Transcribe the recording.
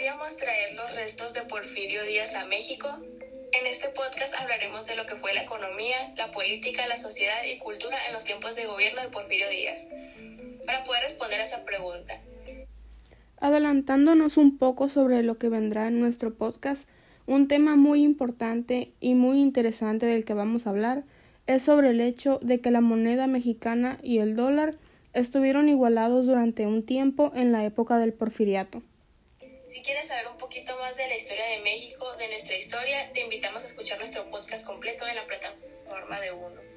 podríamos traer los restos de Porfirio Díaz a México. En este podcast hablaremos de lo que fue la economía, la política, la sociedad y cultura en los tiempos de gobierno de Porfirio Díaz. Para poder responder a esa pregunta, adelantándonos un poco sobre lo que vendrá en nuestro podcast, un tema muy importante y muy interesante del que vamos a hablar es sobre el hecho de que la moneda mexicana y el dólar estuvieron igualados durante un tiempo en la época del Porfiriato. Si quieres saber un poquito más de la historia de México, de nuestra historia, te invitamos a escuchar nuestro podcast completo en la plataforma de Uno.